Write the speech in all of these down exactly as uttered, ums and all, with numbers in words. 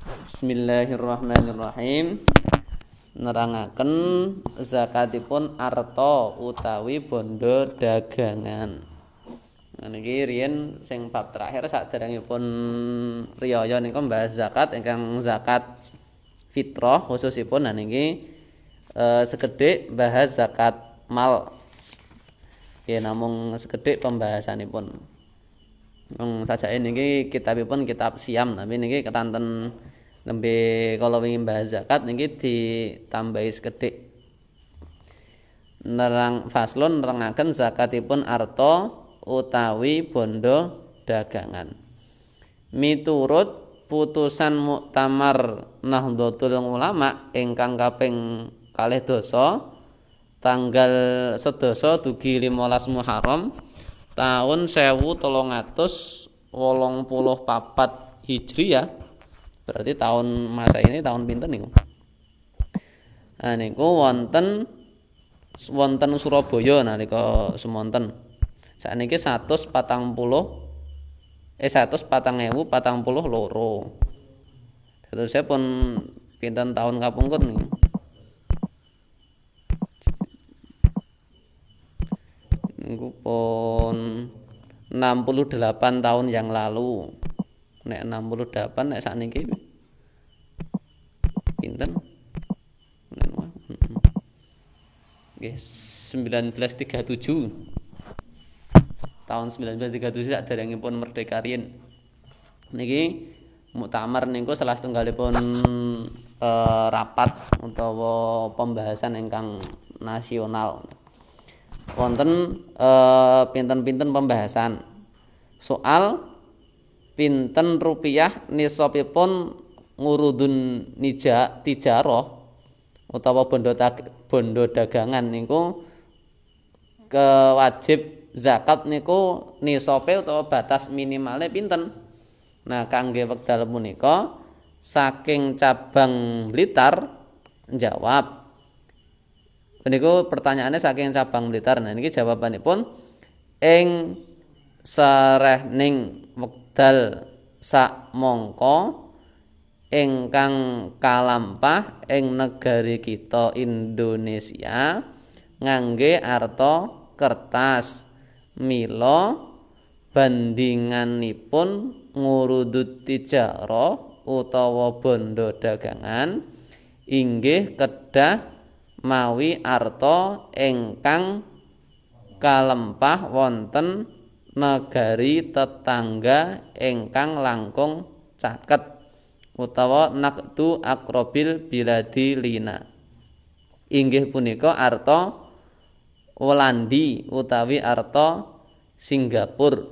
Bismillahirrahmanirrahim. Nerangaken zakatipun arta utawi bondo dagangan. Nah niki riyen sing bab terakhir saderengipun riyaya nika mbahas zakat ingkang zakat fitrah khususipun. Nah niki e, sekedhik bahas zakat mal. Ya namung sekedhik pembahasanipun. Wong sajake niki kitabipun kitab Siam, tapi niki ketanten nembe kala wingi bahas zakat niki ditambahi sekedhik. Nerang faslun nerangaken zakatipun arta utawi bondo dagangan. Miturut putusan Muktamar Nahdlatul Ulama ingkang kaping kalih dasa tanggal sedasa dugi limolas Muharram tahun sewu telung atus wolung puluh papat Hijriyah. Berarti tahun masa ini tahun pinten niku? Nah niku wonten wonten Surabaya nalika semonten. Sakniki satus patang puluh eh satus patang ewu patang puluh loro. Terusnya pun pinten tahun kapungkur niku? Niku pun enam puluh delapan tahun yang lalu. Nek enam puluh delapan nek sakniki pinten? Nggih seribu sembilan ratus tiga puluh tujuh. Tahun seribu sembilan ratus tiga puluh tujuh saderengipun merdeka riyen. Niki muktamar niku salah setunggalipun eh, rapat utawa pembahasan ingkang nasional. Wonten eh, pinten-pinten pembahasan soal pinten rupiah nisabipun ngurudun nija tijarah utawa bondo bondo dagangan niku kewajib zakat niku nisabe utawa batas minimale pinten. Nah kangge wekdal punika saking cabang Blitar njawab. Niku pertanyaannya saking cabang Blitar. Nah niki jawabanipun ing sarehning wekdal sak mongko ingkang kalampah ing negari kita Indonesia ngangge arta kertas mila bandinganipun ngurudut tijarah utawa bondo dagangan inggih kedah mawi arta ingkang kalempah wonten negari tetangga ingkang langkung caket utawa naqdu aqrabil biladi lina. Inggih punika arta Walandi utawi arta Singapura.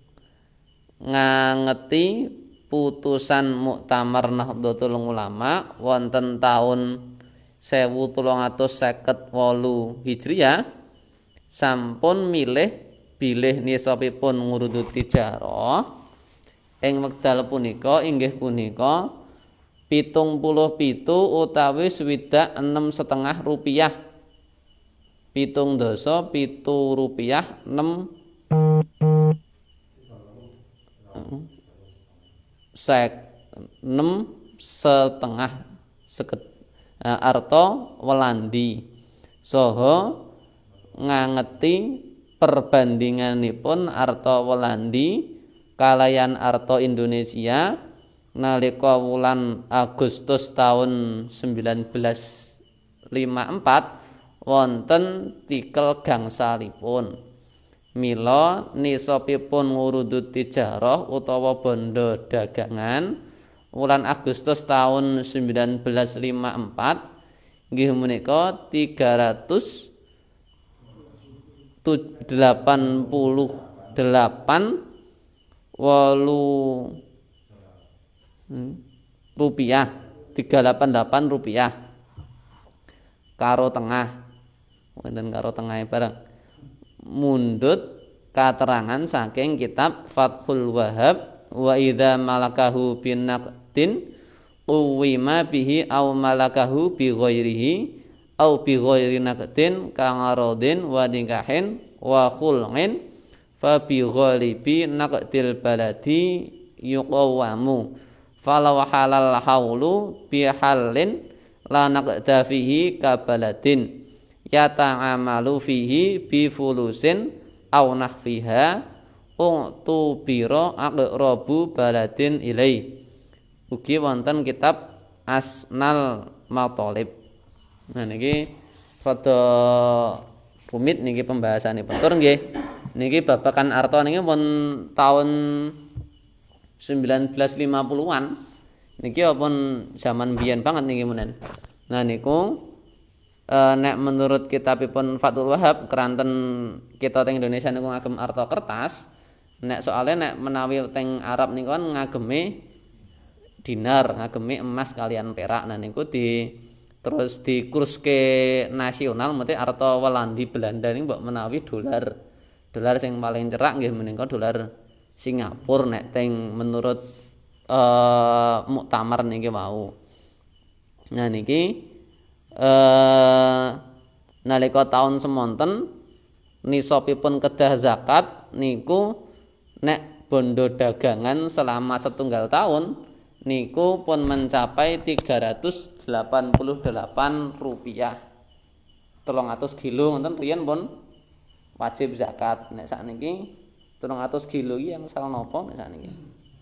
Ngangeti putusan Muktamar Nahdlatul Ulama wonten taun sewu telung atus seket wolu Hijriyah sampun milih bilih nisabipun ngurudut tijarah ing wekdal punika inggih punika pitung puluh pitu utawi swidak enem setengah rupiah. Pitung dasa pitu rupiah enam sek enam setengah seket arta Walandi saha ngangeti perbandinganipun arta Walandi kalayan arta Indonesia nalika wulan Agustus tahun seribu sembilan ratus lima puluh empat wonten tikel gangsalipun. Mila nisabipun ngurudut tijarah utawa bondo dagangan wulan Agustus tahun seribu sembilan ratus lima puluh empat nggih menika tiga ratus delapan puluh delapan wolu rupiah tiga ratus delapan puluh delapan rupiah karo tengah wonten karo tengah barang mundut katerangan saking kitab Fathul Wahhab wa idza malakahu binaqdin uwima bihi au malakahu bi ghairihi au bi ghairi naqdin kangarodin wa nikahin wa khul'in fa bi ghalibi naqdil baladi yuqawamu falau halal haulu bihalin la naqda fihi kabaladin yata'amalu fihi bi fulusin aw nahfiha utubira aqrabu baladin ilai. Ugi wonten kitab Asnal Matalib. Nah niki rada rumit niki pembahasanipun. Tur nggih niki babakan arta niki pun tahun sembilan belas lima puluhan niki pun zaman biyen banget niki menen. Nah niku e, nek menurut kitabipun Fathul Wahhab keranten kita teng Indonesia niku ngagem arta kertas. Nek soalnya nek menawi teng Arab niku kan ngageme dinar, ngageme emas kalian perak. Nah niku di terus dikuruske nasional mesti arta Walandi Belanda niku mbok menawi dolar. Dolar sing paling cerak nggih menika dolar Singapura nek teng menurut uh, muktamar niki wau. Nah niki uh, nalika taun semonten nisabipun kedah zakat niku nek bondo dagangan selama setunggal tahun niku pun mencapai tiga ratus delapan puluh delapan rupiah. telung atus kilo ngoten riyen pun wajib zakat. Nek sakniki telung atus kilo iki yang salah napa nek sakniki.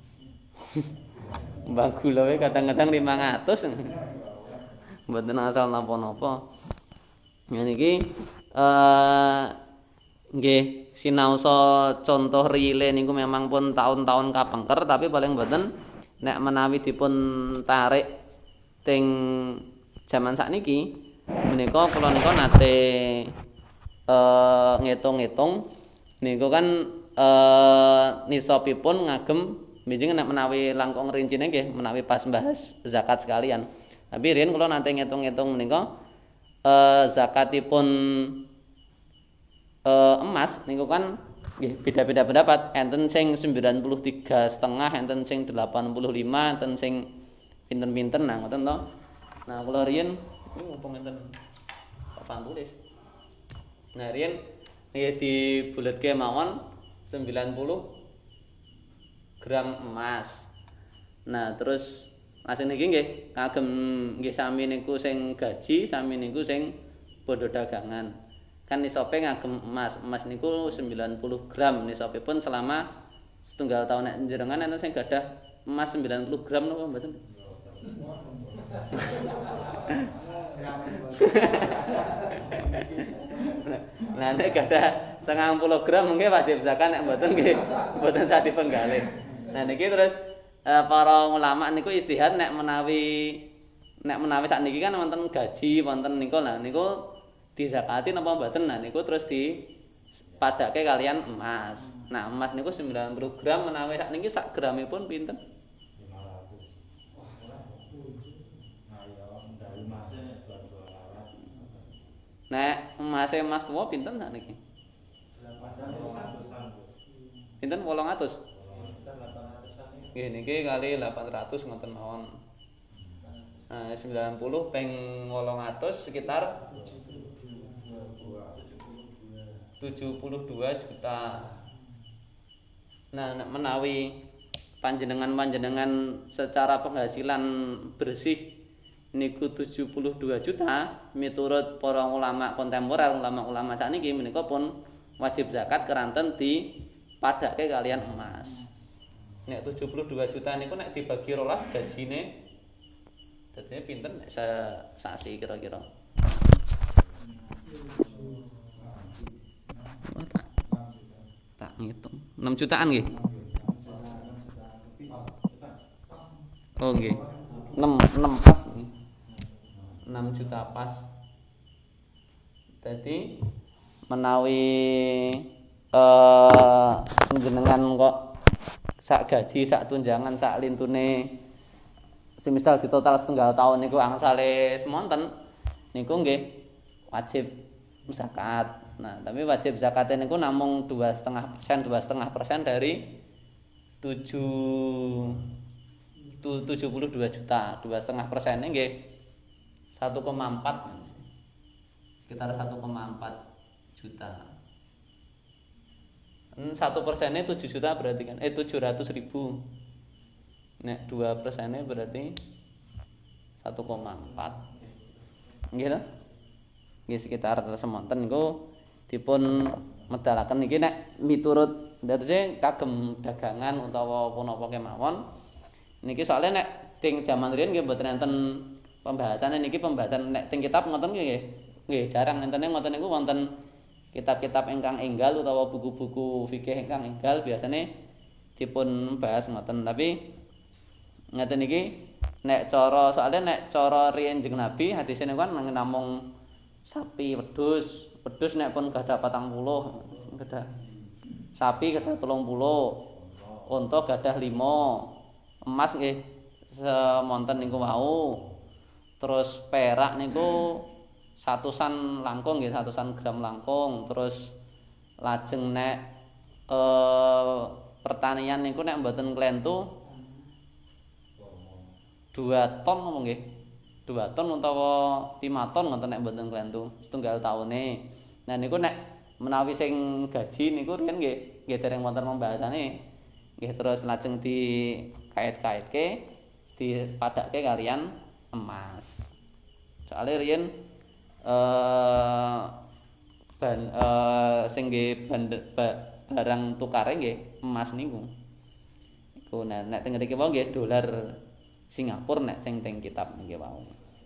Mbah gula wae kadang-kadang limang atus. Mboten asal napa-napa. Niki eh nggih sinaosa contoh rile niku memang pun tahun-tahun kapengker tapi paling mboten nek menawi dipun tarik teng jaman sakniki menika kula nika nate eh ngitung-ngitung niku kan eh nisabipun ngagem mijing nek menawi langkung rincine nggih menawi pas bahas zakat sekalian. Tapi riyen kula nate ngitung-ngitung menika eh zakatipun Uh, emas niku kan nggih beda-beda pendapat. Enten sing sembilan puluh tiga setengah, enten sing delapan puluh lima, enten sing pinten-pinten nah ngoten to. Nah kula riyen iki mumpung enten papan tulis. Nah riyen nggih dibuletke mawon sembilan puluh gram emas. Nah terus masih niki nggih kagem nggih sami niku sing gaji, sami niku sing bondo dagangan. Kan nisabe ngagem emas, emas niku sembilan puluh gram nisabipun selama setunggal tahun nek njenengan enten sing gadah emas sembilan puluh gram napa mboten? Nah nek gadah setengah puluh gram mungkin wajib zakat nek mboten nggih mboten sak dipenggalih. Nah niki terus eh, para ulama niku istihad nek menawi nek menawi sakniki kan wonten gaji, wonten niku lah niku dizakati napa mboten. Nah niku terus dipadake kalian emas. Nah emas niku sembilan puluh gram menawi sakniki sak gramipun pinten? Nek emas emas tuwa pinten sakniki? Pinten wolong atus? Nggih niki kali delapan ratus ngoten mawon. Nah sembilan puluh ping wolong atus sekitar tujuh puluh dua juta. Nah menawi panjenengan-panjenengan secara penghasilan bersih niku tujuh puluh dua juta miturut para ulama kontemporer, ulama-ulama sakniki menika pun wajib zakat keranten dipadake kalian emas. Nek tujuh puluh dua juta niku nek dibagi rolas gajine dadine pinten nek sasi kira-kira? Tak ngitung enam jutaan nggih. Oh nggih. enam enam pas nggih. enam juta pas. Dadi menawi eh jenengan kok sak gaji, sak tunjangan, sak lintune semisal ditotal setunggal tahun niku angsale semonten niku nggih wajib zakat. Nah, tapi wajib zakatnya niku namung dua koma lima persen, dua koma lima persen dari tujuh puluh dua juta. dua koma lima persen nggih satu koma empat. Sekitar satu koma empat juta. satu persennya tujuh juta berarti kan eh tujuh ratus ribu. Nek dua persennya berarti satu koma empat. Nggih to? Nggih sekitar semonten niku dipun medalaken niki nek miturut dadose kagem dagangan utawa punapa kemawon. Niki soalnya nek ting jaman riyen nggih mboten enten pembahasannya niki pembahasan nek ting kitab ngoten nggih nggih jarang entene ngoten niku wonten kitab-kitab ingkang enggal utawa buku-buku fikih ingkang enggal biasanya dipun bahas ngoten tapi ngeten iki nek cara soalnya nek cara riyen Kanjeng Nabi hadise niku kan namung sapi wedhus wedhus nek pun gadah patang puluh gadah sapi gadah telung puluh unta gadah lima emas nggih semonten niku wau terus perak niku satusan langkung nggih satusan gram langkung terus lajeng nek eh, pertanian niku nek mboten klentu dua ton ngomong nggih dua ton utawa lima ton ngoten nek mboten klentu setunggal taune nah niku nek menawi sing gaji niku riyen nggih nggih dereng wonten pembahasane nggih terus lajeng dikait-kaitke dipadakke kalian emas soalnya riyen eh ban eh sing nggih barang tukare nggih emas niku iku nah nek teng mriki wae nggih dolar Singapura nek sing teng kitab nggih wau.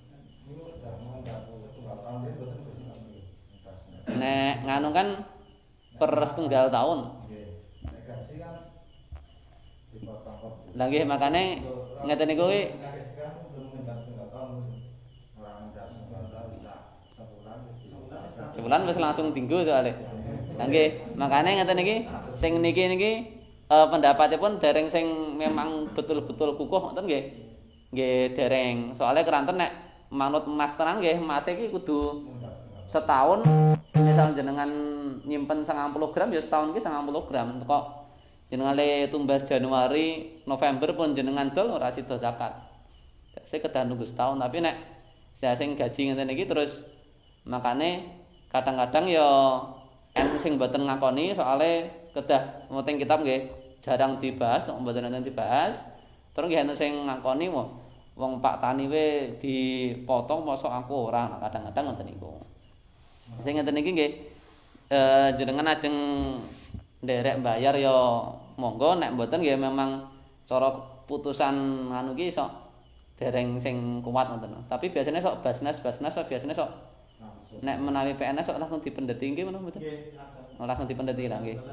Nek nganu kan per setunggal tahun. Lah nggih makane ngeten niku kuwi sebulan wis langsung tinggu soalnya. Lah nggih makane ngeten iki sing niki niki eh, pendapatipun dereng sing memang betul-betul kukuh ngoten nggih. Nggih dereng. Soalnya keranten nek manut emas tenan nggih, emas iki kudu setahun misal jenengan nyimpen sangang puluh gram ya setahun iki sangang puluh gram. Kok jenengan le tumbas Januari, November pun jenengan dol ora sida zakat. Saya kedah nunggu setahun tapi nek saya sing gaji ngeten iki terus makane kadang-kadang ya enten sing mboten ngakoni soalnya kedah wonten kitab nggih jarang dibahas, mboten enten dibahas. Terus nggih enten sing ngakoni mo wong Pak Tani we dipotong mosok aku ora kadang-kadang ngoten niku. Sing ngeten iki nggih eh jenengan ajeng nderek bayar ya monggo nek mboten nggih memang cara putusan anu ki sok dereng sing kuat ngoten. Tapi biasanya sok basnas basnas sok biasanya sok nek menawi P N S sok langsung dipendeti nggih menapa mboten? Nggih, langsung. Langsung dipendeti lah nggih.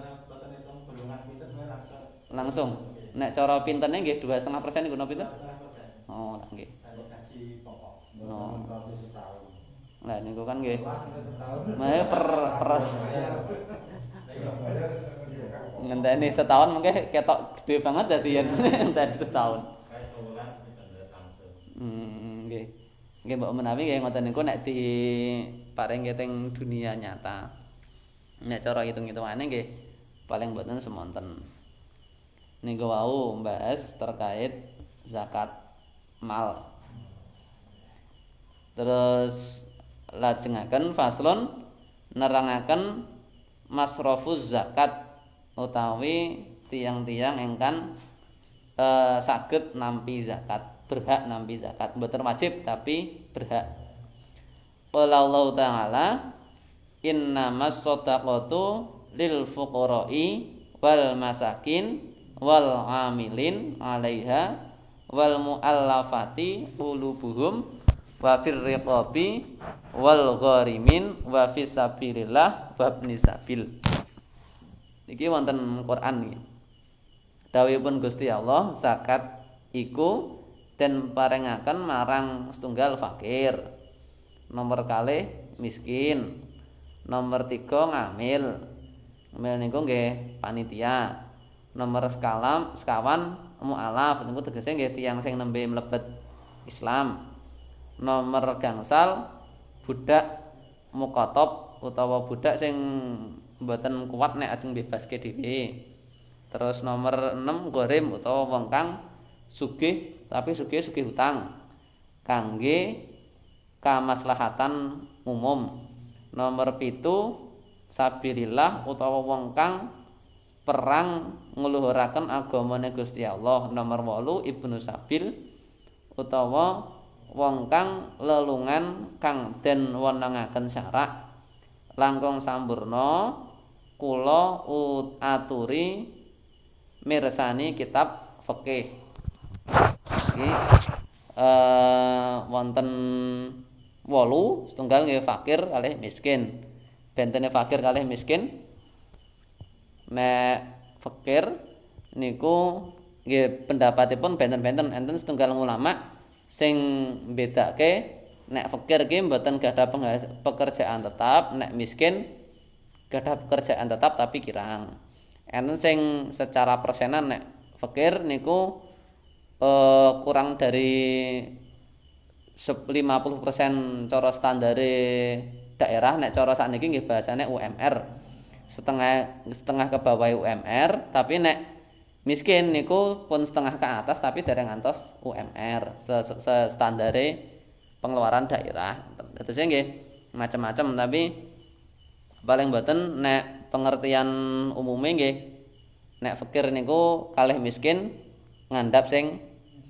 Langsung. Nek cara pintene nggih dua koma lima persen niku napa pinten? Oh, nggih. Oh. Lah niku kan nggih. Mae per per ngenteni setahun mungkin ketok gede banget dadi yen ngenteni setahun. Hmm, nggih. Nggih mbok menawi nggih ngoten niku nek diparingke teng dunia nyata. Nek cara hitung-hitungane nggih paling mboten semonten. Niku wau mbahas terkait zakat mal. Terus lajengaken faslon nerangaken masrafuz zakat utawi tiang-tiang ingkang e, saged nampi zakat, berhak nampi zakat, mboten wajib tapi berhak. Qala Allah taala innamas shadaqatu lil fuqara'i wal masakin wal amilin 'alaiha wal muallafati qulubuhum wa fir riqabi wal gharimin wa fis sabilillah wa ibnis sabil. Iki wonten Quran iki. Dawuhipun Gusti Allah, zakat iku den paringaken marang setunggal fakir. Nomor kalih miskin. Nomor tiga ngamil. Ngamil niku nggih panitia. Nomor sekalam sekawan mu'alaf niku tegese nggih tiyang sing nembe mlebet Islam. Nomor gangsal budak muqatab utawa budak sing mboten kuat nek ajeng bebaske dhewe. Terus nomor enam gharim utawa wong kang sugih tapi sugih-sugih hutang kangge kamaslahatan umum. Nomor pitu sabilillah utawa wong kang perang ngluhuraken agamane Gusti Allah. Nomor wolu Ibnu Sabil utawa wong kang lelungan kang den wenengaken syarak langkung sampurna kula aturi mirsani kitab fikih. Iki eh wonten wolu setunggal nggih fakir kalih miskin. Bentene fakir kalih miskin. Nek fakir niku nggih pendapatipun benten-benten enten setunggal ulama sing bedake nek fakir ki mboten gadah pekerjaan tetap, nek miskin gadah pekerjaan tetap tapi kirang. Enten sing secara persenan nek fakir niku eh, kurang dari lima puluh persen cara standare daerah, nek cara sakniki nggih bahasane U M R. Setengah setengah ke bawah U M R, tapi nek miskin niku pun setengah ke atas tapi dereng ngantos U M R se standare pengeluaran daerah. Terus nggih macam-macam tapi paling boten nek pengertian umume nggih nek fakir niku kalih miskin ngandhap sing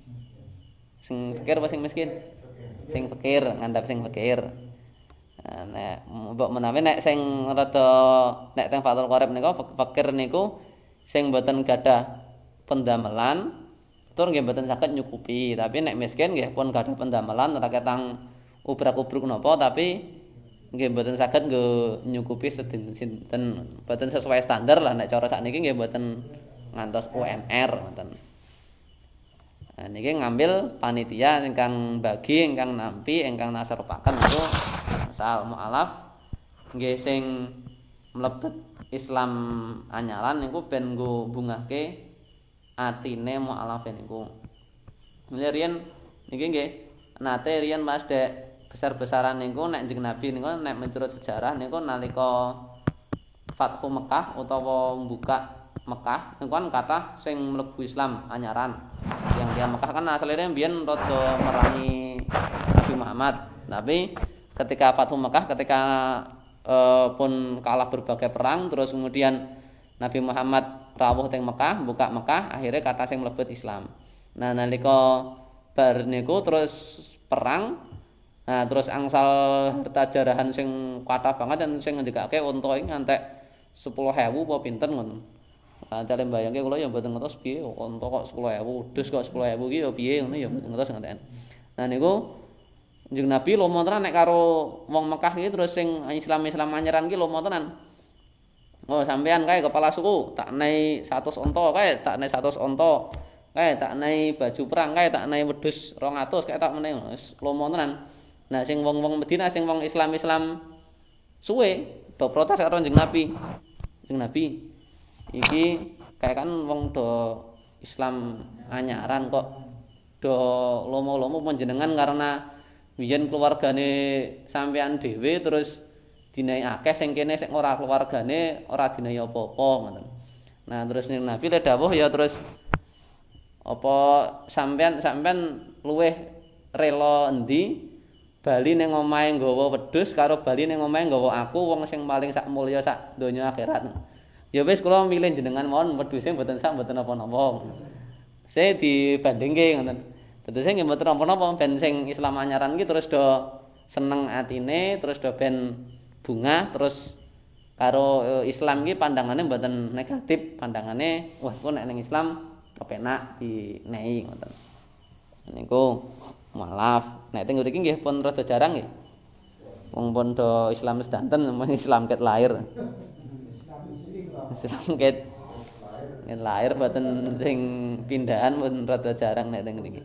sing fakir apa sing miskin? Sing fakir, ngandhap sing fakir. Nah, nek mbok menawi nek sing rada nek teng Fathul Qorib niku fakir niku sing mboten gadah pendamelan tur nggih mboten saged nyukupi, tapi nek miskin nggih pun gadah pendamelan ora ketang ubrak-ubruk napa tapi nggih mboten saged nggo nyukupi sinten mboten sesuai standar lah nek cara sakniki nggih mboten ngantos U M R ngoten. Nah niki ngambil panitia ingkang bagi ingkang nampi ingkang naserupaken niku asal mualaf nggih sing mlebet Islam anyaran niku ben nggo bungahke atine mualaf niku. Mulih riyen niki nggih nate riyen Mas dek besar-besaran niku nek Kanjeng Nabi niku nek miturut sejarah niku nalika Fathu Mekah utawa buka Mekah niku kan kathah sing mlebu Islam anyaran. Yang dia Mekah kan asalnya mbiyen rada merangi Nabi Muhammad. Tapi ketika Fathu Mekah ketika eh, pun kalah berbagai perang terus kemudian Nabi Muhammad rawuh teng Mekah, buka Mekah, akhirnya kata sing mlebet Islam. Nah nalika bar niku terus perang. Nah terus angsal harta jarahan sing kathah banget dan sing ngendikake unta iki ngantek sepuluh ewu apa pinten ngoten. Nah cale mbayangke kula ya mboten ngertos piye unta kok sepuluh ewu, dus kok sepuluh ewu iki ya piye ngono ya mboten ngertos ngenten. Nah niku Kanjeng Nabi lomo tenan nek karo wong Mekah iki terus sing Islam-Islam anyaran iki lomo tenan. Oh sampean kae kepala suku tak nai seratus unta kae tak nai seratus unta. Kae tak nai baju perang kae tak nai wedhus rong atus kae tak meneh wis lomo tenan. Nah sing wong-wong Madinah sing wong Islam-Islam suwe do protes karo Kanjeng Nabi. Kanjeng Nabi iki kae kan wong do Islam anyaran kok do lomo-lomo panjenengan karena biyen keluargane sampean dhewe terus dinai akeh sing kene sing ora keluargane ora dinai apa-apa ngoten. Nah terus ning Nabi le dawuh ya terus apa sampean sampean luweh rela endi bali ning omahe nggawa wedhus karo bali ning omahe nggawa aku wong sing paling sak mulya sak donya akhirat. Ya wis kula milih jenengan mawon wedhuse mboten sak mboten napa-napa. Saya dibandingke ngoten. Tetese nggih mboten napa-napa ben sing Islam anyaran iki terus do seneng atine terus do ben bunga terus karo Islam iki pandangane mboten negatif, pandangane wah kok nek ning Islam kepenak dinehi ngoten. Niku maaf, nek teng mriki nggih pun rada jarang nggih. Wong pun do Islam sedanten Islam ket lahir. Islam ket ket lahir mboten sing pindahan pun rada jarang nek teng mriki.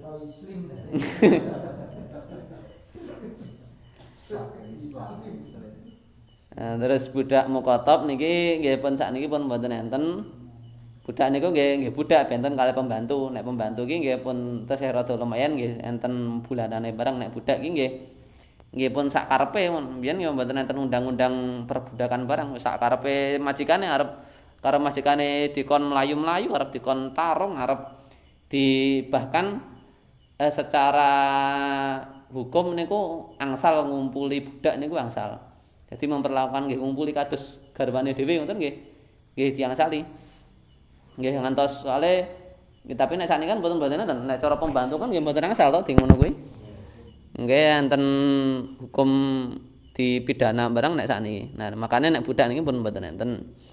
Nah, terus budak mukotob niki nggih pun sakniki pun mboten enten. Budak niku nggih nggih budak benten kalih pembantu. Nek pembantu iki nggih pun tesih rada lumayan nggih enten bulanane barang nek budak iki nggih nggih pun sak karepe mbiyen ya mboten enten undang-undang perbudakan barang sak karepe majikane arep karo majikane dikon mlayu-mlayu arep dikon tarung arep di bahkan eh, secara hukum niku angsal ngumpuli budak niku angsal. Jadi memperlakukan nggih ngumpuli kados garbane dhewe ngoten nggih. Nggih diangsali. Nggih ngantos soalé tapi nek sakniki kan mboten-mboten enten nek cara pembantu kan nggih mboten angsal to di ngono kuwi. Nggih enten hukum dipidana barang nek sakniki. Nah, makanya nek budak niki pun mboten enten.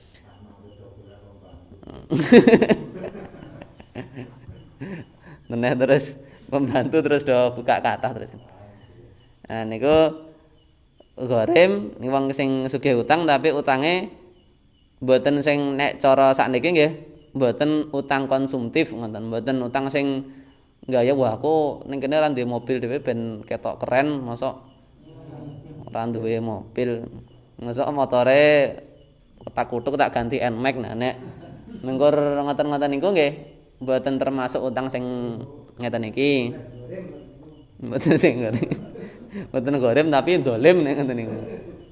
Meneh terus pembantu terus do buka kathah terus. Nah niku gharim niku wong sing sugih utang tapi utange mboten sing nek cara sakniki nggih mboten utang konsumtif ngoten, mboten utang sing gaya wah aku ning kene ora duwe mobil dhewe ben ketok keren, mosok ora duwe mobil. Mosok motore kotak-kutuk tak ganti N-Max. Nah nek mengkur ngoten-ngoten niku nggih mboten termasuk utang sing ngeten iki. Mboten sing ngene. Mboten gharim tapi dolim nek ngoten niku.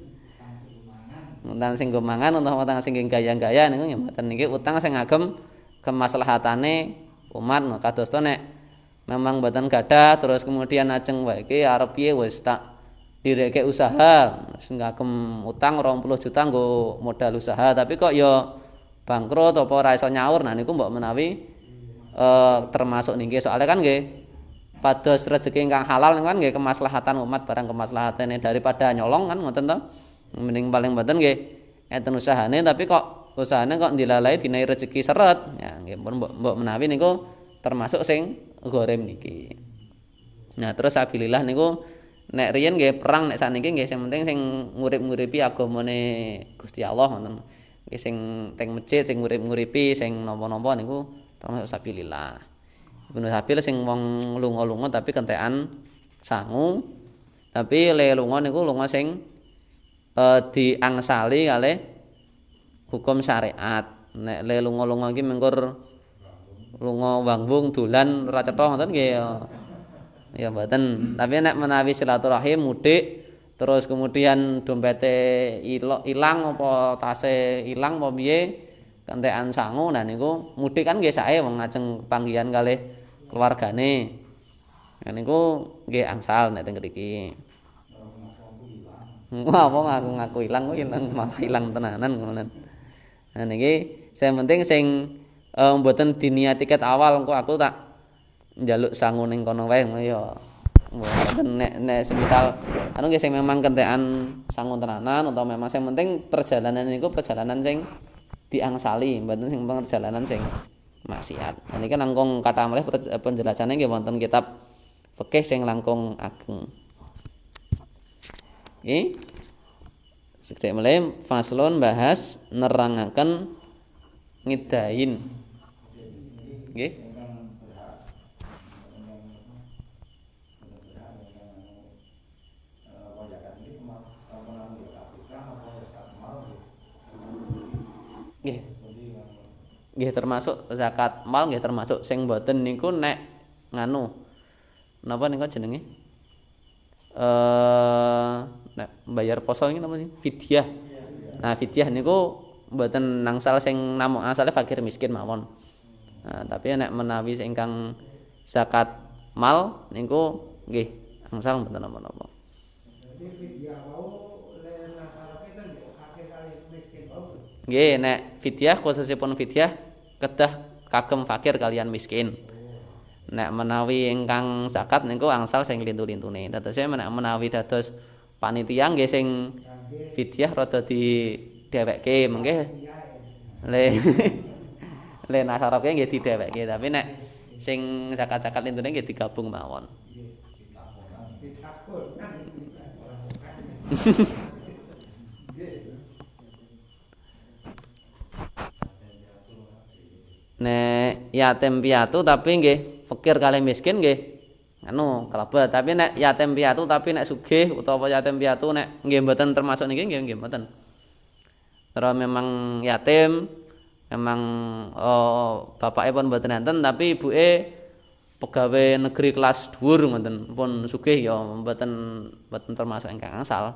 Utang sing nggo mangan utawa utang sing gaya-gaya niku ya mboten niki utang sing ngagem kemaslahatane umat kados to nek memang mboten gadah terus kemudian ajeng wae iki arep piye wis tak direke usaha sing ngagem utang rong puluh juta nggo modal usaha tapi kok ya bangkrut apa ora iso nyaur nah niku mbok menawi eh, termasuk niki soalnya kan nggih pados rezeki ingkang halal kan nggih kemaslahatan umat barang kemaslahatane daripada nyolong kan ngoten to. Mending paling mboten nggih enten usahane tapi kok usahane kok dilalai dinai rezeki seret ya nggih mbok mbok menawi niku termasuk sing gharim niki. Nah terus abilillah niku nek riyen nggih perang nek sakniki nggih sing penting sing ngurip-nguripi agamane Gusti Allah ngoten. Nggih sing teng masjid sing ngurip-nguripi sing napa-napa niku termasuk sabilillah. Ibnu Sabil sing wong lunga-lunga tapi kentekan sangu tapi le lunga niku lunga sing E, diangsali kalih hukum syariat. Nek le lunga-lunga iki mengkur lunga wangbung dolan ora cetha ngoten nggih ya. Ya mboten. Tapi nek menawi silaturahim mudik terus kemudian dompete ilang apa tase ilang apa piye kentekan sangu nah niku mudik kan nggih sae wong ngajeng panggihan kalih keluargane. Nah niku nggih angsal nek teng mriki. Wah, apa ngaku-ngaku ilang kok ilang malah ilang tenanan ngono. Nah niki sing penting sing eh, mboten diniati ket awal engko aku tak njaluk sangu ning kono wae ya. Mboten nek nek semisal anu nggih sing memang kentekan sangu tenanan atau memang sing penting perjalanan niku perjalanan sing diangsali, mboten sing perjalanan sing maksiat. Nah niki langkung kathah malih penjelasane nggih wonten kitab fikih sing langkung ageng. Oke. Sedek mulai faslon bahas nerangaken ngidain. Nggih. Nggih. Nggih termasuk zakat mal nggih termasuk sing mboten niku nek nganu. Napa niku jenenge? Eh nek bayar poso iki napa sih? Fidyah. Nah, fidyah niku mboten nangsal sing namung asale fakir miskin mawon. Nah, tapi nek menawi ingkang zakat mal niku nggih angsal mboten napa-napa. Nggih, nek fidyah khususipun fidyah kedah kagem fakir kalian miskin. Nek menawi ingkang zakat niku angsal sing lintu-lintune. Dados nek menawi dados panitia nggih sing fidyah rada didhewekke mengke le le nasaroke nggih didhewekke tapi nek sing zakat-zakat lintune nggih digabung mawon. Nek yatim piatu tapi nggih fakir kalih miskin nggih anu kalebet tapi nek yatim piatu tapi nek sugih utawa yatim piatu nek nggih mboten termasuk niki nggih nggih mboten. Terus memang yatim memang oh, bapake pun mboten enten tapi ibuke pegawai negeri kelas dhuwur ngoten pun sugih ya mboten mboten termasuk ingkang angsal.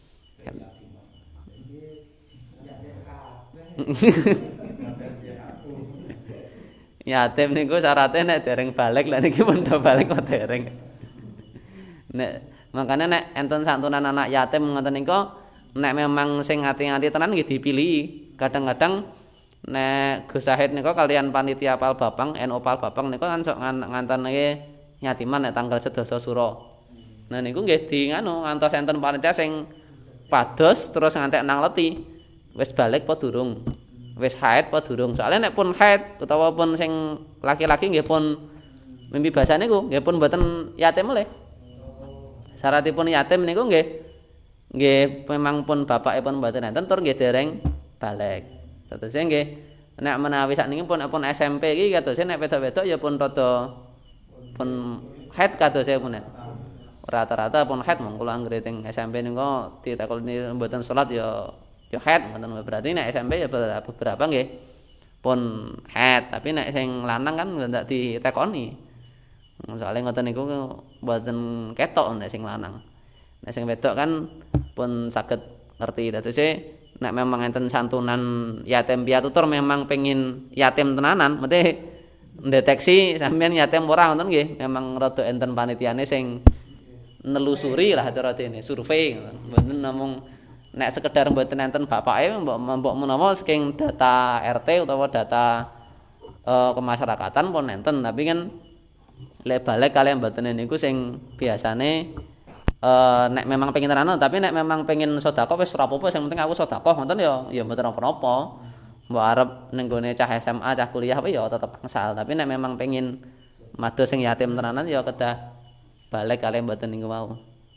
Yatim niku syaratnya nek dereng balik lah niki pun do balik kok dereng. Nek makane nek enten santunan anak yatim ngoten niku nek memang sing ati-ati tenan nggih dipilih. Kadang-kadang nek Gus Sahid nika kalian panitia Pal Bapang, N U Pal Bapang nika kan sok ngantenke nyatiman nek tanggal sedasa sura. Nah niku nggih di nganu ngantos enten panitia sing pados terus ngantek nang leti. Wis balik apa durung? Wis haid apa durung? Soalnya nek pun haid utawa pun sing laki-laki nggih pun mimpi basah niku nggih pun mboten yatim melih. Syaratipun yatim niku nggih nggih memang pun bapakipun mboten enten tur nggih dereng balik. Terus nggih nek menawi sakniki pun pun S M P iki kados nek wedok-wedok ya pun rada pun haid kados pun. Rata-rata pun haid mong kula anggere teng S M P niku ditakoni mboten salat ya ya haid mboten berarti nek S M P ya beberapa nggih pun haid tapi nek sing lanang kan ndak ditekoni. Soale ngoten niku mboten ketok nek sing lanang. Nek sing wedok kan pun saged ngerti dados nek memang enten santunan yatim piatu tur memang pengin yatim tenanan mesti ndeteksi sampeyan yatim ora ngoten nggih memang rada enten panitiane sing nelusuri lah cara dene survei mboten namung nek sekedar mboten enten bapake mbok mbok menawa saking data R T utawa data uh, kemasyarakatan pun enten tapi kan lek balik kalian mboten niku sing biasane Uh, nek memang pengen tenanan tapi nek memang pengen sedekah wis ora apa-apa sing penting aku sedekah ngoten ya ya mboten apa-apa. Mbok arep ning gone cah S M A cah kuliah ya tetep angsal tapi nek memang pengen mados sing yatim tenanan ya kedah balik kalian mboten niku mau.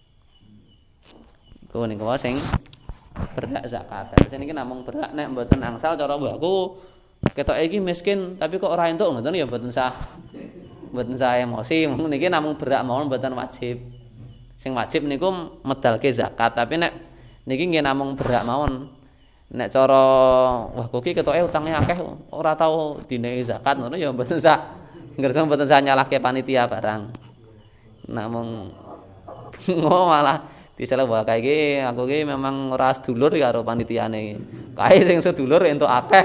Iku niku sing berhak zakat. Terus niki namung berhak nek mboten angsal cara mbahku ketoke iki miskin tapi kok ora entuk ngoten ya mboten sah. Mboten sah emosi niki namung berhak mawon mboten wajib. Sing wajib niku medalke zakat tapi nek niki nggih namung berhak mawon nek cara wah kok iki ketoke utange akeh ora tau dinehi zakat ngono ya mboten sah ngersa mboten sah nyalahke panitia barang namung oh malah disalah wae kae iki aku iki memang ora sedulur karo panitiane kae sing sedulur entuk akeh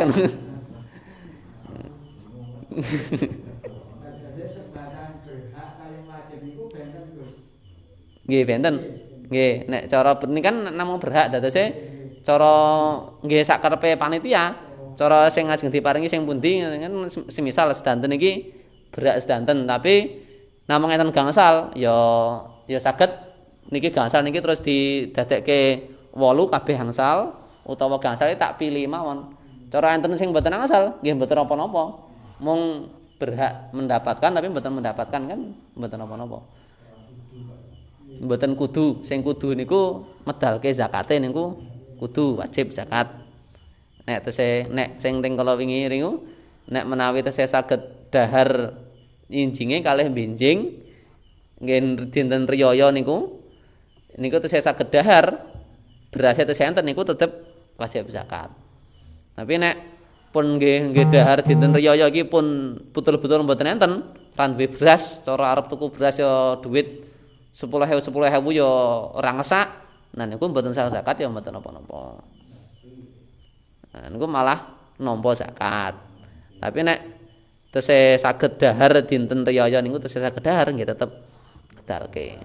nggih benten. Nggih, nek cara ini kan namung berhak dadose cara nggih sak karepe panitia, cara sing ajeng diparingi sing pundi kan semisal sedanten iki berhak sedanten tapi namung enten gangsal ya ya saged niki gangsal niki terus didadekke wolu kabeh gangsal utawa gangsal tak pilih mawon. Cara enten sing mboten gangsal nggih mboten apa-apa. Mung berhak mendapatkan tapi mboten mendapatkan kan mboten apa-apa. Mboten kudu sing kudu niku medalke zakate niku kudu wajib zakat. Nek tese nek sing teng kala wingi niku nek menawi tese saged dahar injinge kalih benjing nggih dinten riyaya niku niku tese saged dahar berase tese enten niku tetep wajib zakat. Tapi nek pun nggih nggih dahar dinten riyaya iki pun betul-betul mboten enten ran duwe beras cara arep tuku beras ya duit sepuluh ewu sepuluh ewu ya ora ngesak. Nah niku mboten sah zakat ya mboten napa-napa. Nah niku malah nampa zakat. Tapi nek tesih saged dahar dinten riyaya niku tesih saged dahar nggih tetep kedalke.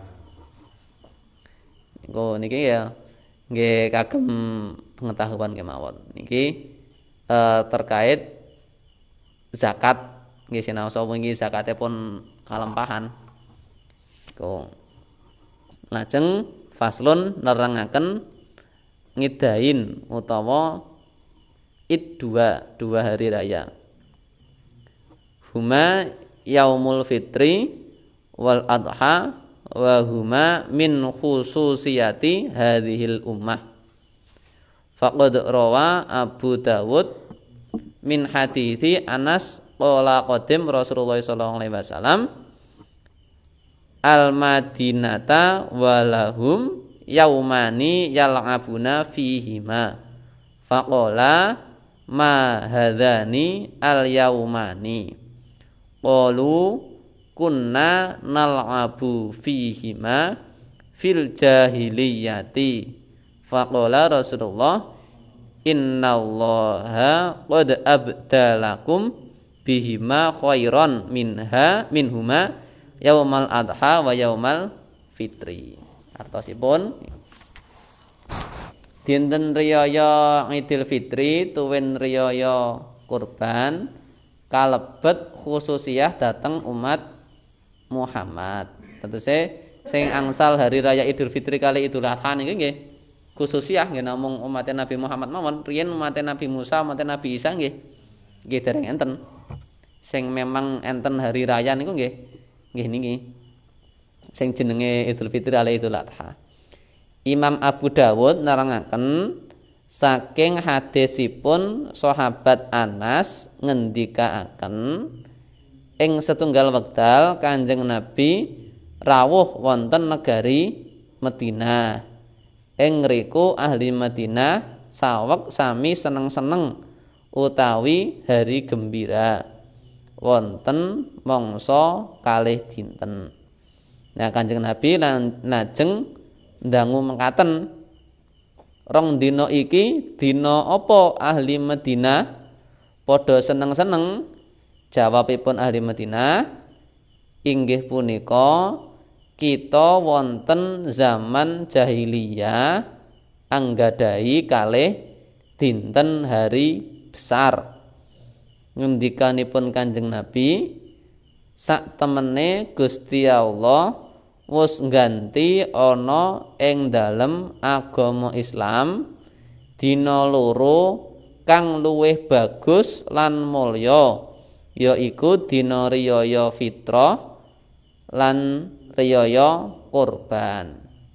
Niku niki ya nggih kagem pengetahuan kemawon. Niki eh, terkait zakat nggih sinaosa wingi zakate pun kalampahan. Niku lajeng faslun nerangaken ngidain utawa id dua dua hari raya. Huma yaumul fitri wal adha wa huma min khususiyati hadhil ummah. Faqad rawa Abu Dawud min hadithi Anas qala qadim Rasulullah sallallahu alaihi wasallam al-Madinata walahum yaumani yal'abuna fihima faqala ma hadzani al-yaumani qalu kunna nal'abu fihima fil jahiliyati faqala Rasulullah innallaha qad abdalakum bihima khairan minha minhuma yaumal adha wa yaumal fitri. Artosipun dinten riyaya Idul Fitri tuwin riyaya kurban kalebet khususiyah dateng umat Muhammad. Tegese sing angsal hari raya Idul Fitri kali Idul Adha niki nggih khususiyah nggih namung umat Nabi Muhammad mawon. Riyen umat Nabi Musa, umat Nabi Isa nggih nggih dereng enten. Sing memang enten hari raya niku nggih nggih niki. Sing jenenge Idul Fitri kali Idul Adha. Imam Abu Dawud nerangaken saking hadisipun sahabat Anas ngendikaaken ing setunggal wekdal Kanjeng Nabi rawuh wonten negari Madinah. Ing ngriku ahli Madinah saweg sami seneng-seneng utawi hari gembira wonten mangsa kalih dinten. Nah Kanjeng Nabi lajeng ndangu mekaten, rong dina iki dina apa ahli Madinah padha seneng-seneng? Jawabipun ahli Madinah, inggih punika kita wonten zaman jahiliyah anggadhahi kalih dinten hari besar. Ngendikanipun Kanjeng Nabi, sak temene Gusti Allah wis ngganti ana ing dalem agama Islam dina loro kang luwih bagus lan mulya, yaiku dina riyaya fitrah lan riyaya kurban.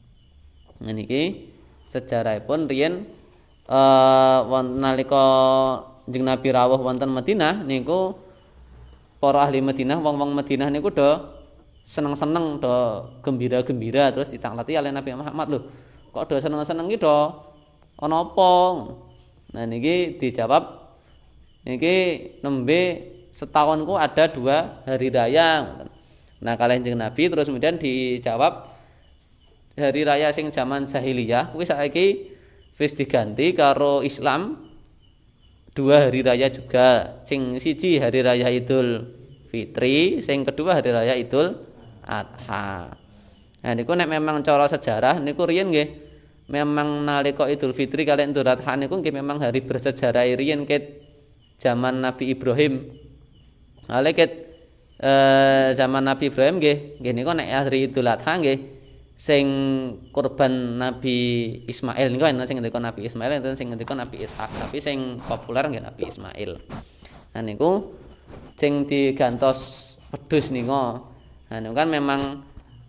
Niki sejarahipun riyen eh wonten nalika Kanjeng Nabi rawuh wonten Madinah niku para ahli Madinah, wong-wong Madinah niku do seneng-seneng, do gembira-gembira terus ditaklati oleh Nabi Muhammad, lho kok do seneng-seneng iki do ana apa? Nah niki dijawab, niki nembe setahunku ada dua hari raya. Nah kalih Kanjeng Nabi terus kemudian dijawab, hari raya sing zaman jahiliyah kuwi saiki wis diganti karo Islam dua hari raya juga. Sing siji hari raya Idul Fitri, sing kedua hari raya Idul Adha. Nah niku nek memang cara sejarah niku riyen nggih memang nalika Idul Fitri kaliyan Idul Adha niku nggih memang hari bersejarah riyen ket zaman Nabi Ibrahim. Ale ket eh, zaman Nabi Ibrahim nggih nggih niku nek hari Idul Adha nggih sing kurban Nabi Ismail niku enten sing ngendika Nabi Ismail, enten sing ngendika Nabi Ishak, tapi sing populer nggih Nabi Ismail. Nah niku sing digantos wedhus niku. Nah niku kan memang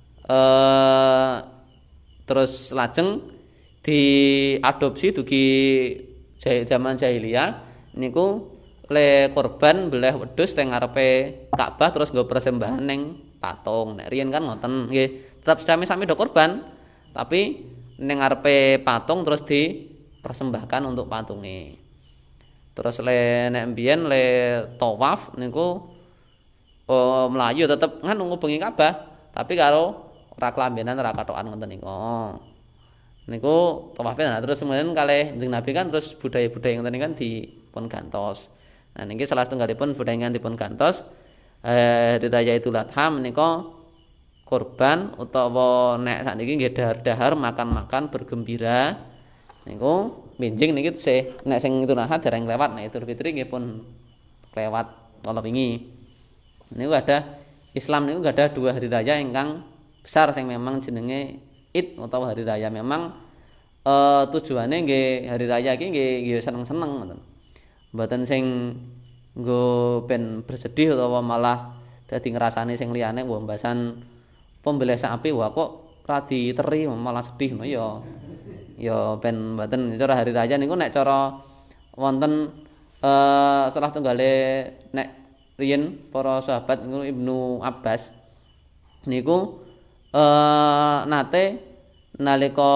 eh, terus lajeng diadopsi dugi zaman jahiliyah niku le kurban beleh wedhus teng ngarepe Ka'bah terus nggo persembahan ning patung. Nek riyen kan ngoten nggih. Tetap sami-sami do korban, tapi ning ngarepe patung terus dipersembahkan untuk patunge. Terus le nek mbiyen le tawaf niku oh, mlayu tetep nganu ngubengi Ka'bah, tapi karo ora kelambenan ora katokan ngoten niku. Niku tawafe nah terus kemudian kalih Kanjeng Nabi kan terus budaya-budaya ngoten niku kan dipun gantos. Nah niki salah setunggalipun budaya dipun gantos eh hari raya Idul Adha menika kurban utawa nek sakniki nggih dahar-dahar makan-makan bergembira niku minjing niki sih nek sing Idul Adha dereng lewat, nek Idul Fitri nggih pun lewat kala wingi. Niku ada Islam niku ada dua hari raya ingkang besar sing memang jenenge Id utawa hari raya. Memang e, tujuane nggih hari raya iki nggih seneng-seneng ngoten. Mboten sing nggo ben bersedih utawa malah dadi ngrasani sing liyane wah mbasan pembelih sapi wah kok ra diteri malah sedih no ya. Ya ben mboten cara hari raya niku nek cara wonten eh salah tunggale nek riyen para sahabat niku Ibnu Abbas niku eh nate nalika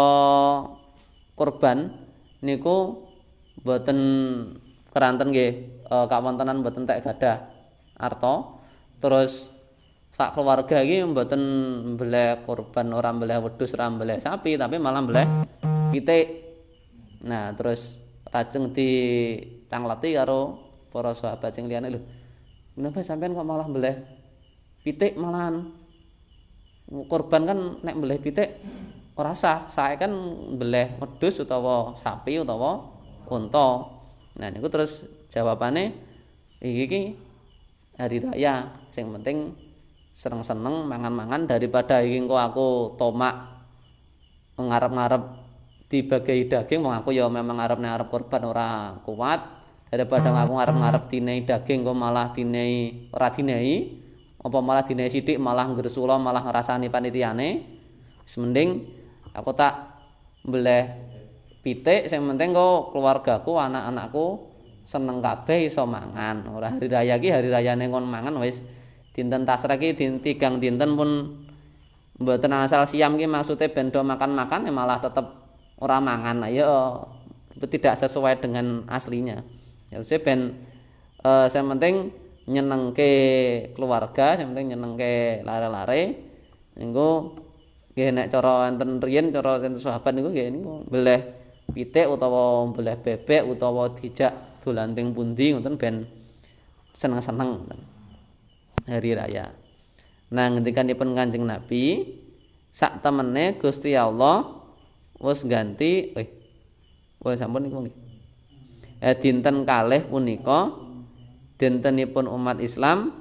kurban niku mboten keranten nggih e, kawontenan mboten tek gadah arta terus sak keluarga iki mboten mbeleh kurban, ora mbeleh wedhus, ora mbeleh sapi, tapi malah mbeleh pitik. Nah, terus lajeng ditangleti karo para sahabat sing liyane, lho. Menapa sampean kok malah mbeleh pitik malahan? Kurban kan nek mbeleh pitik ora sah, sae kan mbeleh wedhus utawa sapi utawa unta. Nah, niku terus jawabane Iki ki hari raya, sing penting seneng-seneng mangan-mangan daripada iki engko aku tomak ngarep-ngarep dibagai daging wong aku ya memang ngarep-ngarep korban ora kuat daripada aku ngarep-ngarep dinehi daging kok malah dinehi ora dinehi apa malah dinehi sithik malah nggersula malah ngrasani panitiane wis mending aku tak mbleh pitik sing penting kok keluargaku anak-anakku seneng kabeh iso mangan ora hari raya iki hari rayane ngon mangan wis dinten tasrek iki tigang dinten pun mboten asal siam ki maksude ben do makan-makan ya malah tetep ora mangan ya tidak sesuai dengan aslinya. Ya saya ben eh, yang penting nyenengke keluarga, yang penting nyenengke lare-lare. Niku nggih nek cara enten riyen cara enten sahabat niku nggih niku mbleh pitik utawa mbleh bebek utawa dijak dolan teng pundi ngoten ben seneng-seneng hari raya. Nah ngendikanipun Kanjeng Nabi sak temene Gusti Allah wis ganti eh wis sampun niku nggih. Eh dinten kalih punika dintenipun umat Islam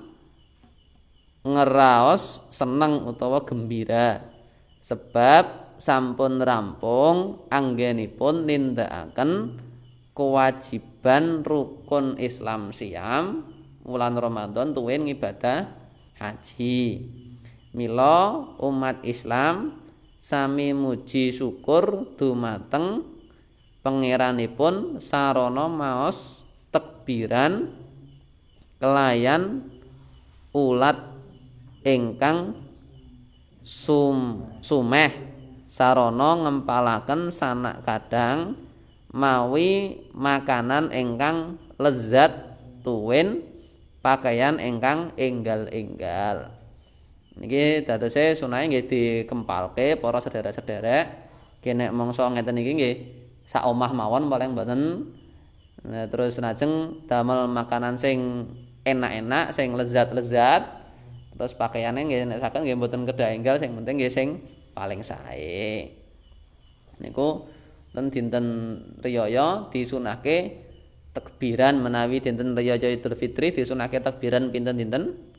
ngeraos seneng utawa gembira sebab sampun rampung anggenipun nindakaken kewajiban rukun Islam siam wulan Ramadan tuwin ngibadah haji. Mila umat Islam sami muji syukur dumateng pangeranipun sarana maos tekbiran kelayan ulat ingkang sum sumeh sarana ngempalaken sanak kadang mawi makanan ingkang lezat tuwin pakaian ingkang enggal-enggal. Niki dadose sunahe nggih dikempalke para sederek-sederek kene mangsa ngeten iki nggih sak omah mawon paling mboten nah, terus lajeng damel makanan sing enak-enak sing lezat-lezat terus pakaiane nggih nek saken nggih mboten kedah enggal sing penting nggih sing paling sae niku ten dinten riyaya disunahke takbiran menawi dinten riyaya Idul Fitri disunahke takbiran pinten-pinten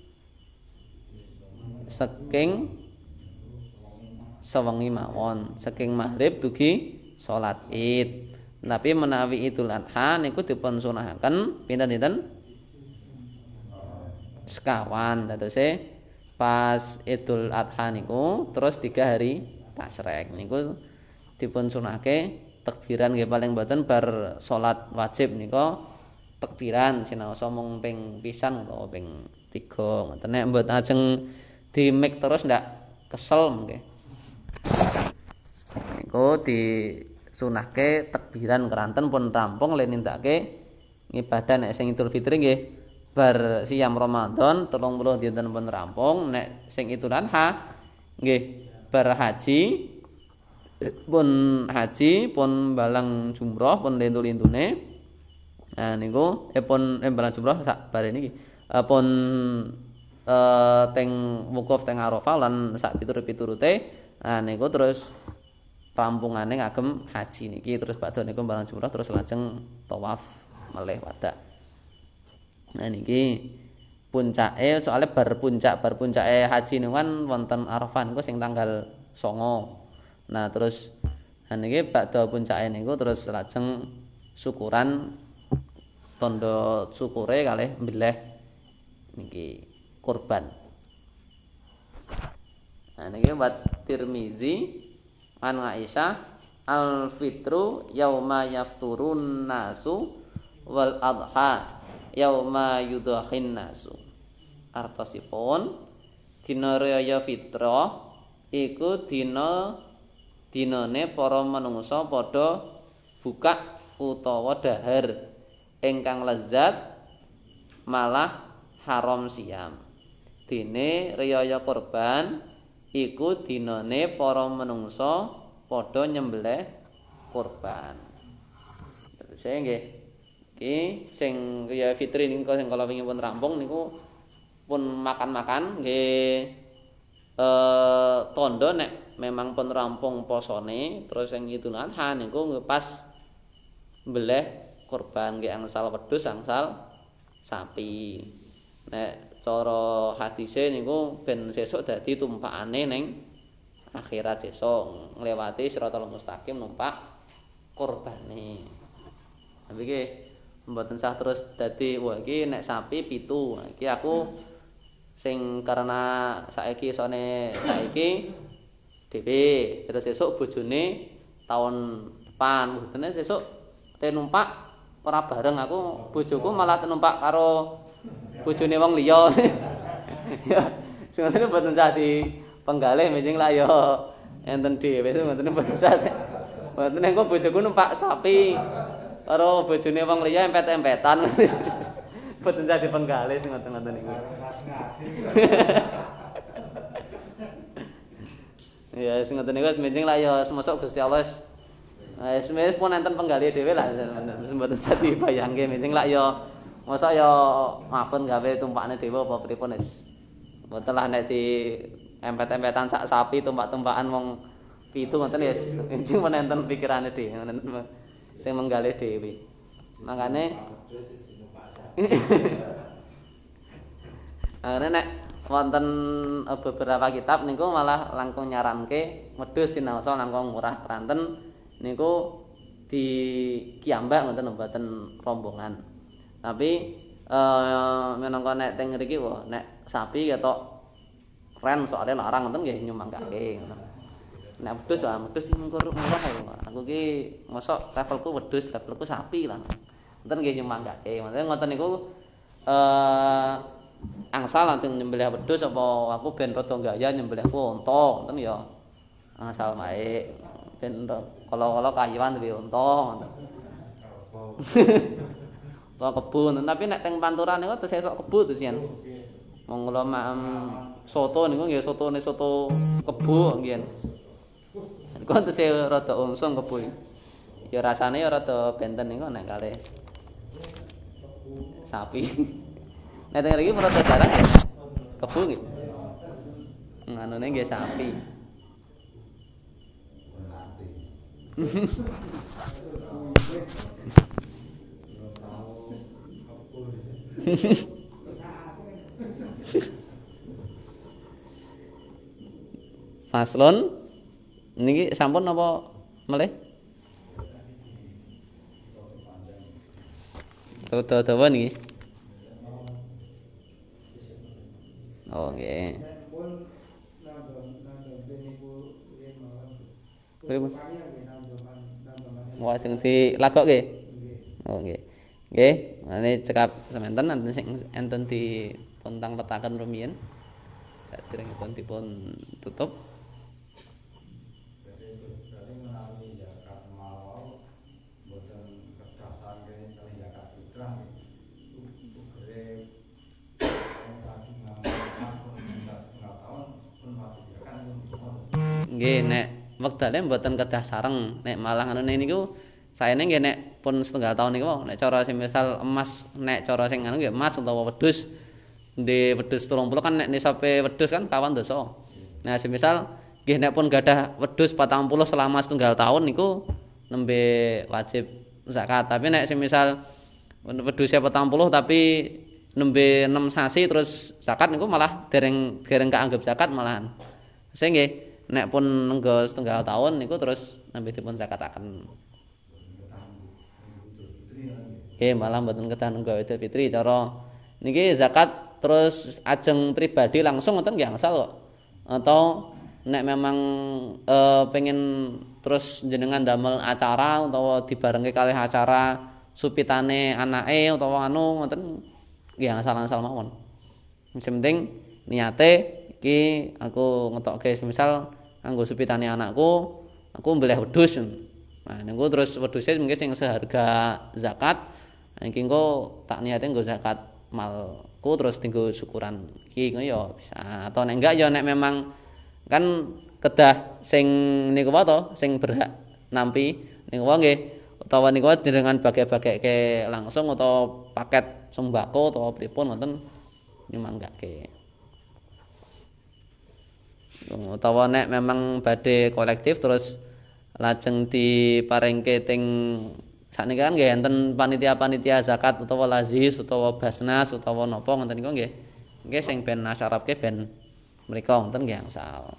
saking sewengi mawon saking maghrib dugi salat Id. Tapi menawi Idul Adha niku dipun sunahaken pinten-pinten sekawan dadose pas Idul Adha niku terus tiga hari tasrek niku dipun sunahke takbiran nggih paling mboten bar salat wajib nika takbiran sinaosa mung ping pisan utawa ping tiga ngoten nek mboten ajeng di mik terus ndak kesel nggih. Niku disunahke takbiran keranten pun rampung le nindakake ngibadah nek sing Idul Fitri nggih bar siam Ramadan telung puluh dinten pun rampung nek sing Idul Adha nggih bar haji pun haji pun balang jumroh pun lintu-lintune. Nah niku eh pun eh balang jumroh sak bare niki eh, pun Uh, teng wukuf teng Arafah lan sak piturut-piturute nah niku terus rampungane ngagem haji niki terus badhe niku barang jumrah terus lajeng tawaf melih wadah. Nah niki puncake soalnya bar puncak bar puncake haji niku kan wonten Arafah niku sing tanggal songo. Nah terus nah niki badhe puncake niku terus lajeng syukuran tondo syukure kalih mbilih niki kurban. Nah niki buat Tirmizi an Aisyah al fitru yauma yafturun nasu wal adha yauma yudhahin nasu. Artosipun dina raya fitrah iku dina dinane para manungsa padha buka utawa dahar ingkang lezat malah haram siam. Dene riyaya kurban iku dinane para manungsa padha nyembelih kurban. Terus nggih iki sing riyaya fitri niku sing kala wingi pun rampung niku pun makan-makan nggih eh tondo nek memang pun rampung posone terus sing Idul Adha niku pas mbelih kurban nggih angsal wedhus angsal sapi. Nek cara hadise niku ben sesuk dadi tumpakane ning akhirat sesuk ngliwati Shiratal Mustaqim numpak kurbane. Tapi iki mboten sah terus dadi wah iki nek sapi pitu. Iki aku sing karena saiki sone saiki dhewe terus sesuk bojone tahun depan. Bojone sesuk te numpak ora bareng aku bojoku malah numpak karo bojone wong liya. Ya sing ngono mboten sah di penggalih mending lah ya enten dhewe mboten mboten sah. Mboten engko bojoku numpak sapi karo bojone wong liya empet-empetan. Mboten sah di penggalih sing ngoten-ngoten niku. Ya sing ngoten niku wis mending lah ya semesuk Gusti Allah wis wis pun enten penggalih dhewe lah mboten sah dibayangke mending lah ya masa ya mapun gawe tumpakane dhewe apa pripun wis mboten lah nek di empet-empetan sak sapi tumpak-tumpakan wong pitu ngoten wis enjing men enten pikirane dhewe ngoten sing menggalih dhewe makane makane nek wonten beberapa kitab niku malah langkung nyaranke wedhus sinaosa langkung murah pranten niku di kiambak ngoten mboten rombongan. Tapi eh menangka nek teng mriki wah nek sapi ketok keren soalnya larang ngoten nggih nyumanggake ngoten. Nek wedhus ah wedhus sing murah murah aku ki mosok levelku wedhus levelku sapi lah. Ngoten nggih nyumanggake. Maksudnya ngoten niku eh angsal langsung nyembelih wedhus apa aku ben rada gaya nyembelihku unta ngoten ya. Angsal wae ben kala-kala kayuan duwe unta ngoten. Tua kebun, tapi nek teng panturan niku tesih sok kebu terus yen. Wong kula mak soto niku nggih sotone soto kebu nggih. Niku tesih rada unsung kebu. Ya rasane ya rada benten niku nek kalih sapi. Nek teng mriki rada jarang ya. Kebu nggih. Nganune nggih sapi. Faslon niki sampun apa melih? Dawa-dawa niki. Oh nggih. Pripun? Wah sing dilagokke. Oh nggih. Nggih, mane cekap semanten enten sing enten dipun tang-petaken rumiyin. Saderengipun dipun tutup. Nggih, nek wektane mboten kedah sareng, nek malah ngene niku saene nggih nek pun setengah tahun niku nek cara sing misal emas nek cara sing anu nggih emas utawa wedhus di wedhus telung puluh kan nek nisabe wedhus kan kawan dosa. Nah semisal nggih nek pun gadah wedhus patang puluh selama setengah tahun niku nembe wajib zakat. Tapi nek semisal wedhusnya patang puluh tapi nembe enam sasi terus zakat niku malah dereng dereng kaanggep zakat malahan. Sing nggih nek pun nenggo setengah tahun niku terus nembe dipun zakataken. Eh malah mboten kedah nunggu Idul Fitri cara niki zakat terus ajeng pribadi langsung ngoten nggih angsal kok. Atau nek memang e, pengen terus jenengan damel acara utawa dibarengke kalih acara supitane anake utawa anu ngoten nggih angsal-angsal mawon. Sing penting niate iki aku ngetokke semisal kanggo supitane anakku aku mbelih wedhus. Nah niku terus wedhuse mungkin sing seharga zakat. Iki engko tak niate nggo zakat malku terus tinggo syukuran iki ngono ya bisa. Atau nek enggak ya nek memang kan kedah sing niku wae to sing berhak nampi niku wae nggih utawa niku dengan bagi-bagike langsung atau paket sembako utawa pripun wonten nyumanggake. Utawa nek memang badhe kolektif terus lajeng diparingke teng sakniki kan nggih enten panitia-panitia zakat utawa lazis utawa basnas utawa napa ngoten niku nggih. Nggih sing ben nasyarapke ben mriku ngoten nggih angsal.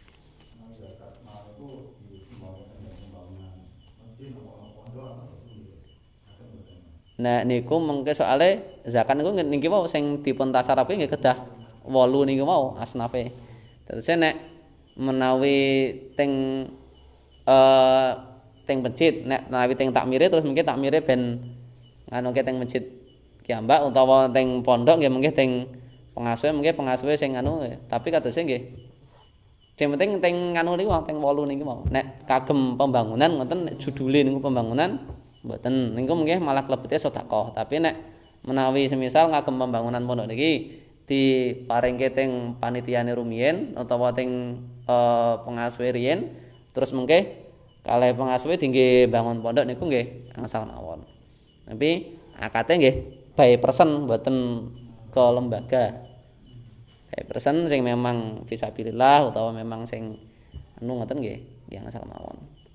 Nah niku mengke soale zakat niku niki mau sing dipun tasarapke nggih kedah wolu niku mau asnafe. Terus nek menawi teng eh teng masjid nek menawi teng takmire terus mungkin takmire ben nganuke teng masjid kiambak utawa teng pondok nggih mungkin teng pengasuhe mungkin pengasuhe sing anu tapi katose nggih sing penting teng nganu niku teng wolu niku mau. Nek kagem pembangunan ngoten nek judule niku pembangunan mboten niku mungkin malah klebete sedekah. Tapi nek menawi semisal ngagem pembangunan pondok niki diparingke teng panitiane rumiyin utawa teng eh, pengasuhe riyin terus mungkin kalih pengasuhe tinggi bangun pondok niku nggih angsal mawon. Tapi akate nggih by person mboten ke lembaga. By person sing memang fisabilillah utawa memang sing anu ngoten nggih nggih angsal mawon.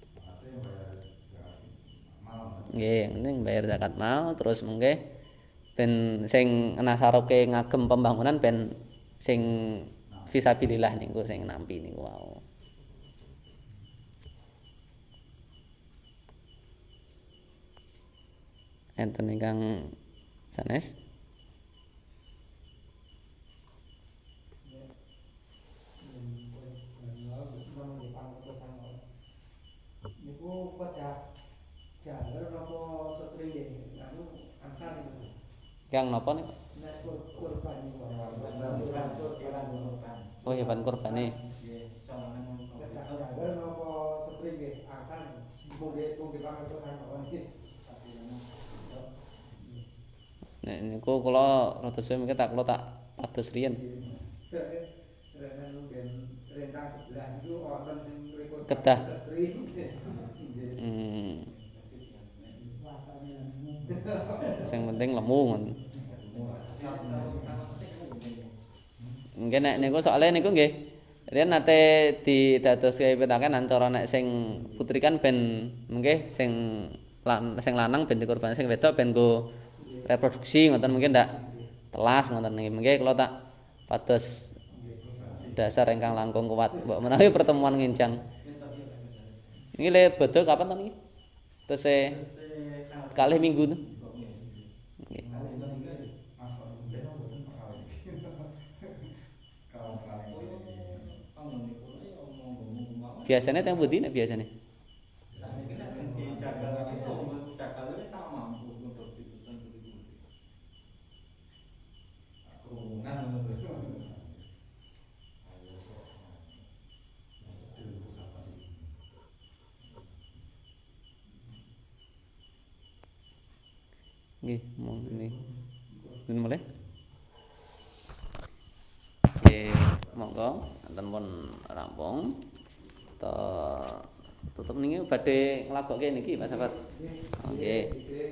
Nggih, ning bayar zakat mau terus mengke ben sing nasaroke ngagem pembangunan ben sing fisabilillah niku sing nampi niku wau. Enten ingkang sanes niku pada jalur napa setring nggih anu angsal niku. Yang napa niku? Nek kurban niku. Oh hewan kurbane. Jalur napa setring nggih angsal mungkin mungkin pangertosan mawon iki. Nek niku kula rada suwe mengke tak kula tak pados riyen. Rentang sebelah niku wonten sing mripun Kedah. setring. Hmm. Sing penting lemu ngoten. Nggih nek niku soalé niku nggih riyen nate didadoske pitakenan cara nek sing putri kan ben nggih sing lan sing lanang ben dikorban sing wedok ben go reproduksi ngoten mungkin ndak telas ngoten nggih mengke kula tak pados dasar ingkang langkung kuat mbok menawi pertemuan ngincang. Niki le bodho kapan to niki? Tese kalih minggu to. Nggih. Biasane teng pundi nek biasane? Nggih, mong ini. Nun mulai. Oke, monggo enten pun rampung. Ta tutup niki badhe nglagokke niki Pak Sabar. Nggih.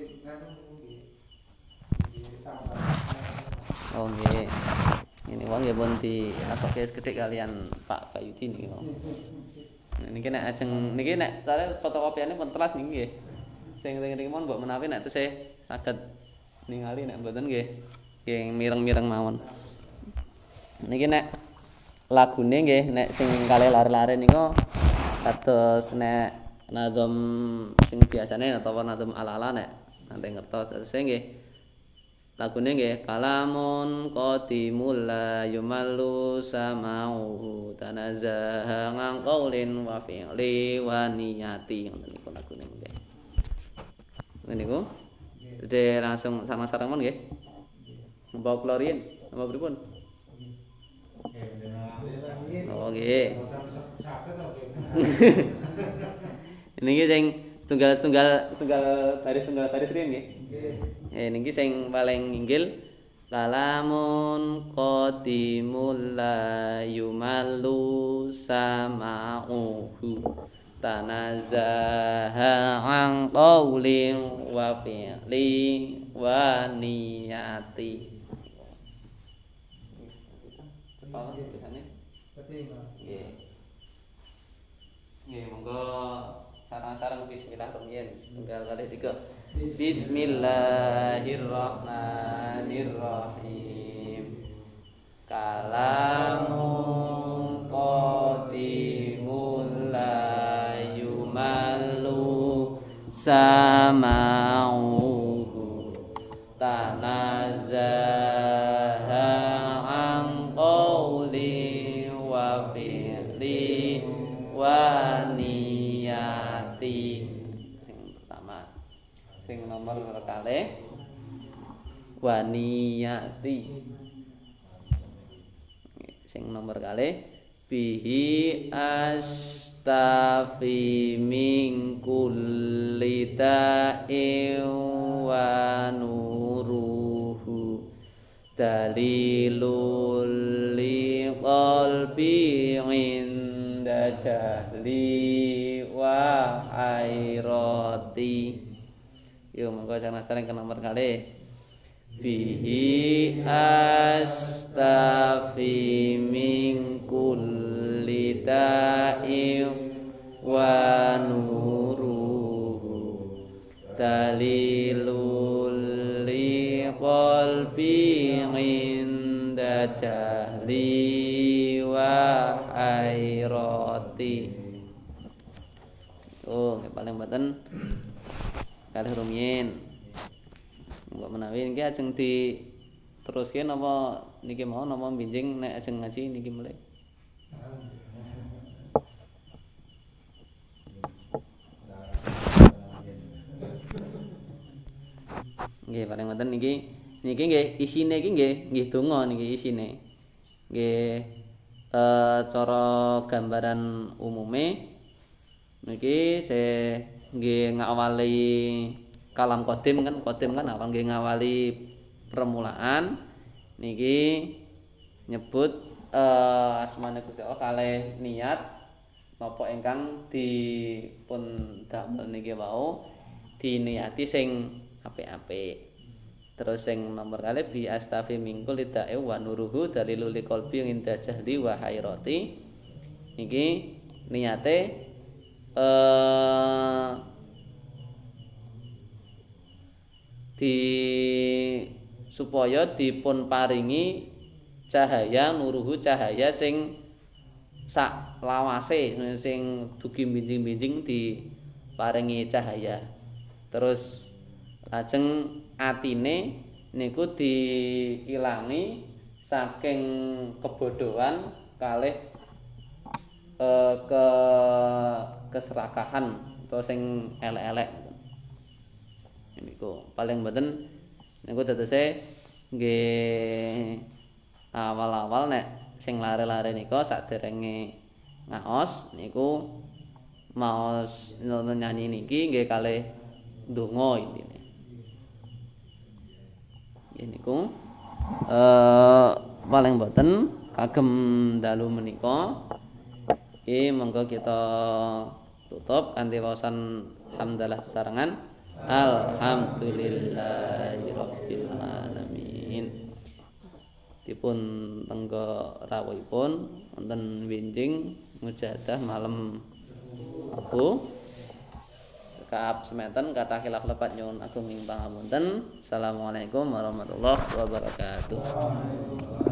Oh nggih. Ini wong nggih pun dilagokke sekedhik kalian Pak Bayudi niki mau. Niki nek ajeng niki nek cara fotokopiane pun telas niki nggih. Sing ring-ring mon mbok menawi nek tesih saged ningali nek mboten nggih nggih mireng-mireng mawon. Niki nek lagune nggih nek sing kalih lare-lare niku kados nek nazam sing biasane utawa nazam ala-ala nek nanti ngertos terus nggih lagune nggih kalamun qadimul la yumallu sama'u tanazzaha ngang qaulin wa fi'li wa niyati ngoten niku lagune nggih. Niku Dede langsung sama sarang mon nggih. Mbok klorin, napa pripun? Oh nggih. Niki sing tunggal-tunggal tunggal baris tunggal baris riyen nggih. Eh niki sing paling inggil kalamun qadimul la yumallu sama'uhu tanazzaha an qaulin wa fi'li wa niyati. Oh, biasane. Betul, nggih. Nggih, monggo sareng-sareng bismillahirrahmanirrahim. Tunggal kali tiga. Bismillahirrahmanirrahim. Kalamun qadimul la yumallu sama'uhu tanazzaha an qawli wa fi'li wa niyati. Sing pertama, sing nomor kalih wa niyati. Sing nomor kalih bihi astafi min kulli ta'in wa nuruhu dalilul li qalbi inda jahli wa hairati. Yuk monggo jangan sering ke nomor kalih bihi astafi min kulli ta'in wa nuruhu dalilul li qalbi inda jahli wa hairati. Oh, yang paling baten kalih rumiyin. Mbok menawi niki ajeng diteruske napa niki mau napa binjing nek ajeng ngaji niki mulai. Nggih, paling wonten niki niki nggih isine iki nggih nggih donga niki isine. Nggih eh cara gambaran umume niki se nggih ngawali kalam qadim kan qadim kan awal nggih ngawali permulaan niki nyebut uh, asmane Gusti Allah kalih niat napa ingkang dipun damel niki wau diniati sing apik-apik. Terus sing nomor kalih bi astafi mingkul lidae wa nuruhu dalilul qalbi inda jahli wa hairati. Niki niate eh di supaya dipun paringi cahaya nuruhu cahaya sing sak lawase sing dugi binjing-binjing diparingi cahaya. Terus lajeng atine niku diilangi saking kebodohan kalih eh, ke keserakahan atau sing elek-elek. Niku paling mboten niku dadose nggih awal-awal nek sing lare-lare nika saderenge ngaos niku maos nyanyi niki nggih kalih donga intine. Nggih niku eh paling mboten kagem dalu menika iki monggo kita tutup kanthi waosan hamdalah sesarengan. Alhamdulillahirabbil alamin. Dipun tenggo rawuhipun wonten winjing mujahadah malam Rabu. Kaap sementen kathah khilaf lepat nyuwun agung ing pangapunten. Assalamualaikum warahmatullahi wabarakatuh.